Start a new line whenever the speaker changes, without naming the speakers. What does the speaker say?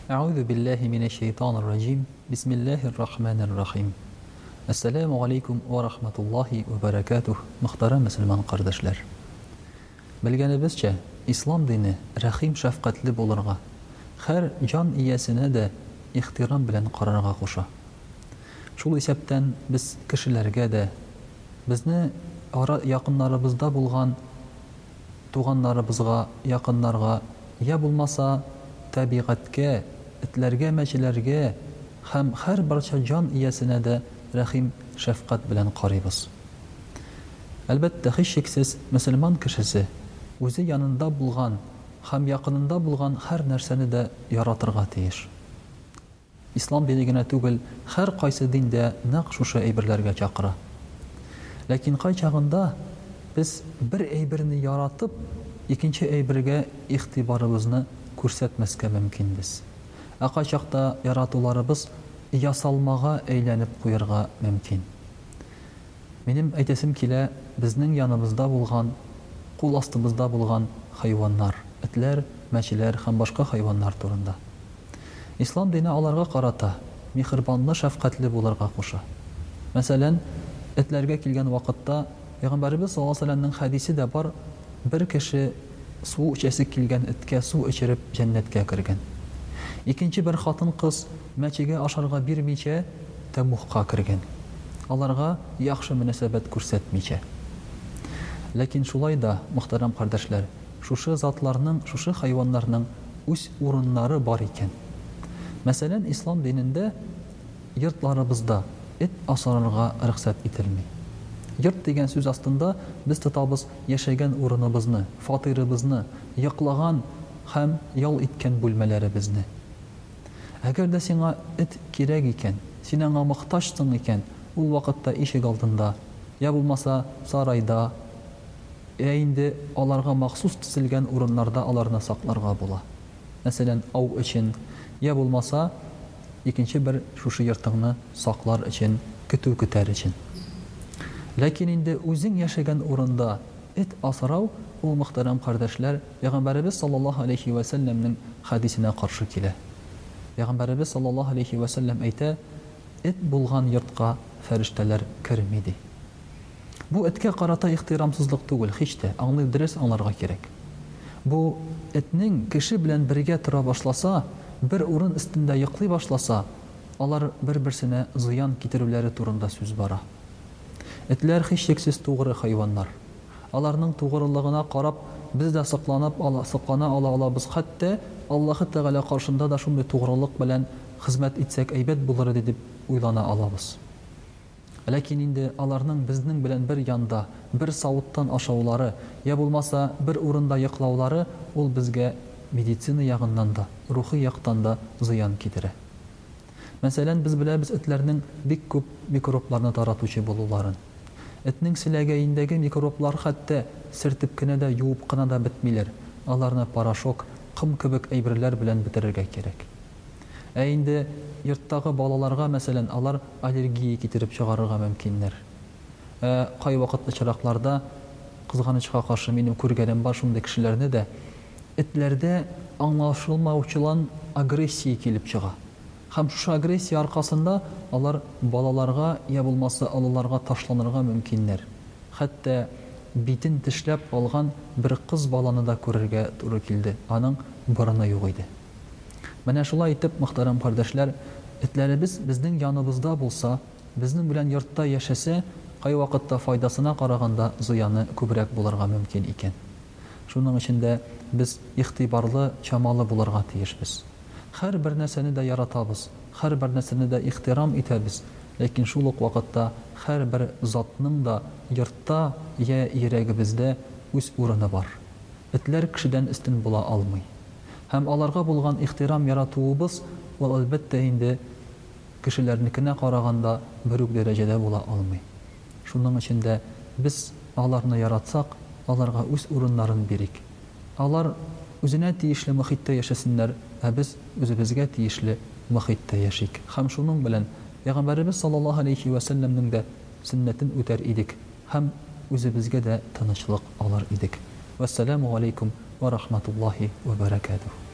أعوذ بالله من الشيطان الرجيم بسم الله الرحمن الرحيم Assalamu alaikum wa rahmatullahi wa barakatuh. Muhtaram Müslüman kardeşler. Bilgenibizçe İslam dini rahim şefqatli bulurga, her can iyesine de ihtiram bilen qararga koşa. Şul isepten biz kişilerge de bizni yakınlarımızda bulgan tuğanlarımızga, yakınlarga ya bulmasa tabiatke, itlerge, meçilerge hem her parça can iyesine de rahim şefkat bilen qaribız. Elbette hiç şeksiz Müslüman kişisi o'zi yanında bulgan, hem yakınında bulgan her nerseni de yaratırga teyiş. İslam dinigine tugul her qaysı dinde naq şuşa eybirlerge çaqıra. Lakin qay çağında biz bir eybirini yaratıp ikinci eybirge ihtibarımızını ko'rsatmasga mümkinbiz. Qay çaqda yaratılarımız yasalmağa eğlenip koyarga mümkün. Benim aytesim kile bizning yanımızda bulgan, kul astımızda bulgan hayvanlar, etler, meçiler hem başka hayvanlar turunda. İslam dini alarga qarata, mihribanlı, şefqatli bularga koşa. Mesela etlerge kilgen vakitta Peygamberimiz sallallahu aleyhi ve sellem'nin hadisi de var, bir kişi su içesi kilgen etke su içirip cennetke kirgen. İkinci bir hatın kız meçige aşarga birmiçe temuhqa kirgen. Alarga yaxşı münasebet ko'rsatmiçe. Lakin şulay da muhtaram kardeşler, şuşu zatlarının, şuşu hayvanlarının üs urunları var iken. Mesela İslam dininde yurtlarımızda et asararga rıxsat etilmi. Yurt degen söz aslında biz tutabız yaşagan urunubuzny, fatirimizni, yıqlagan hem yol etken bölmelerimizni. Eğer de sana et kirek iken, sen ona muhtaçsın iken, ul vakitte işik altında, ya bulmasa sarayda, ya indi alarga mahsus tizilgen urunlarda alarına saklarga bola. Mesela av için, ya bulmasa ikinci bir şuşu yırtığını saklar için, kütü küter için. Lakin indi özün yaşagan urunda et asrav, o muhterem kardeşler, Peygamberimiz sallallahu aleyhi ve sellem'nin hadisine karşı kile. Peygamberimiz sallallahu aleyhi ve sellem eyte, et bulgan yurtqa ferişteler kirmedi. Bu etke qarata ihtiramsızlık tugul, hiç de anlayıdırız anlarga gerek. Bu etnin kişi bilen birge tura başlasa, bir urun üstünde yıklı başlasa, alar bir-birsine ziyan kitirüleri turunda söz bara. Etler hiç şeksiz tuğru hayvanlar. Alarның tuğruluğuna qarab, biz de sıqlana ala biz hatta Allah'ı Teala karşında da şunday tuğruluk bilen hizmet etsek eybet bulur edip uylana alabız. Lakin indi alarның bizning bilen bir yanda, bir savuttan aşağıları, ya bulmasa bir urunda yıqlauları, ol bizge meditsina yağından da, ruhi yaqtan da ziyan kitire. Mesela biz bilemiz etlerinin bik köp mikroplarını taratuvchi boluların. Etning silegeyindeki mikroplar hatta sirtip kine de yuup kına da bitmiler. Alarını paraşok, qım kibik eybirler bilen bitirirge gerek. Indi yurttagı balalarga mesela alar allergiya kitirip çıgarırga mümkinler. Qay vakitli çıraklarda kızganычka karşı benim көргенім бар şunday kişilerine de etlerde anlaşılmauçulan agresiya kelip çıga. Hem şu agresiya arkasında alar balalarga ya bulmasa alılarga taşlanırga mümkinler. Hatta bitin tişlep algan bir kız balаны da körerge turu kildi. Anın barına yok idi. Mana şulay etip muhtaram kardeşler, etlerimiz bizning yanımızda bulsa, bizning bilen yurtda yaşasa, qay vaqtda faydasına qaraganda ziyanı köbrek bularga mümkün iken. Şunun içinde biz ihtibarlı, çamalı bularga tiyişbiz. Her bir neseni de yaratabız, her bir neseni de ihtiram etəbiz. Lakin şuluk vaqtda her bir zatның da yurtda ya yüreğimizde üz urunu var. Etler kişiden üstün bula almay. Hem alarga bulgan ihtiram yaratuubuz, o elbette indi kişilernikine qaraganda bürük derecede bula almay. Şunun içinde biz alarını yaratsak, alarga üz urunların birik. Alar özüne tiyişli muhitte yaşasınlar, biz özümüzge tiyişli muhitte yaşayık. Hem şunun bilen Peygamberimiz sallallahu aleyhi ve sellem'nin de sünnetin öter idik. Hem özümüzge de tanışlık alır idik. Vesselamu aleykum ve rahmetullahi ve berekatuhu.